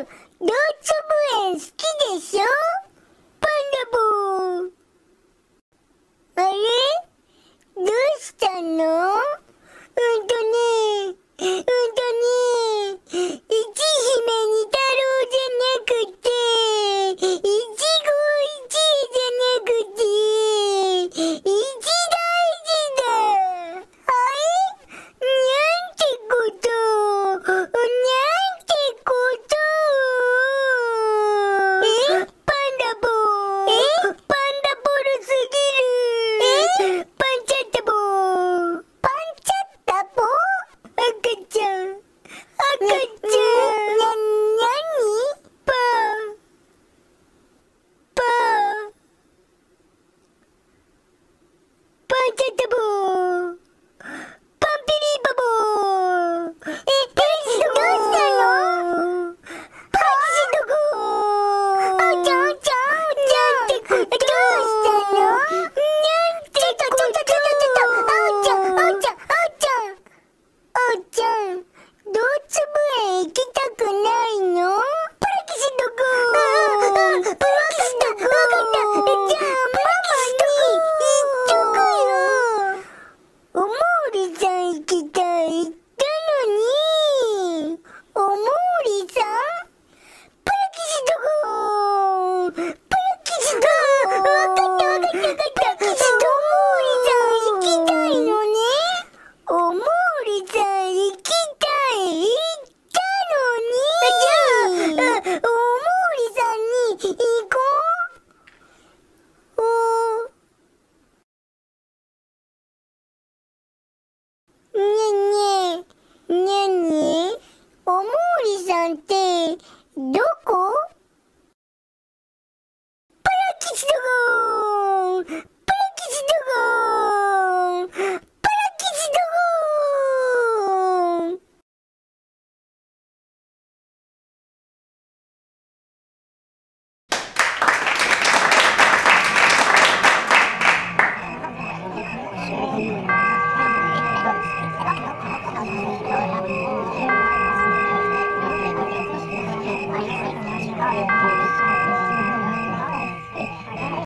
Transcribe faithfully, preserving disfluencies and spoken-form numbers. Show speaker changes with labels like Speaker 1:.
Speaker 1: 動物園好きでしょ？パンダボー。あれ？どうしたの？うんとね、うんとね、いちひめに太郎じゃなくて、いちごいちじゃなくて、いちだいじだ。はい？なんてこと、なんてこと。え？パンダボー。え？パンダボルすぎる。え？パンチャッタボー。パンチャッタボー？赤ちゃん。赤ちゃん。な、な、なに？パー。パー。パンチャッタボー。パンピリーバボー。え、どうしたの？パンチどこ？あちゃんあちゃんあちゃんってこと？どうしたの？なんてこと？ちょちょちょちょちょちょ、あおちゃんあおちゃんあおちゃんあおちゃん、動物園行きたくないの？プラキシどこ？ああ、プラキシどこ？わかった。じゃあママに言っとくよ。おもーりさん行きたい言ったのに。おもーりさん？プラキシどこ？プラキシどこ？わかったわかったわかった。おもーりさん行きたいのね。おもーりさん行きたい言ったのに。じゃあ、おもーりさんに行こう。おー。ねえねえ、ねえねえ、おもーりさんってどこ？プラキシどこ？プラキシどこ？プラキシどこ？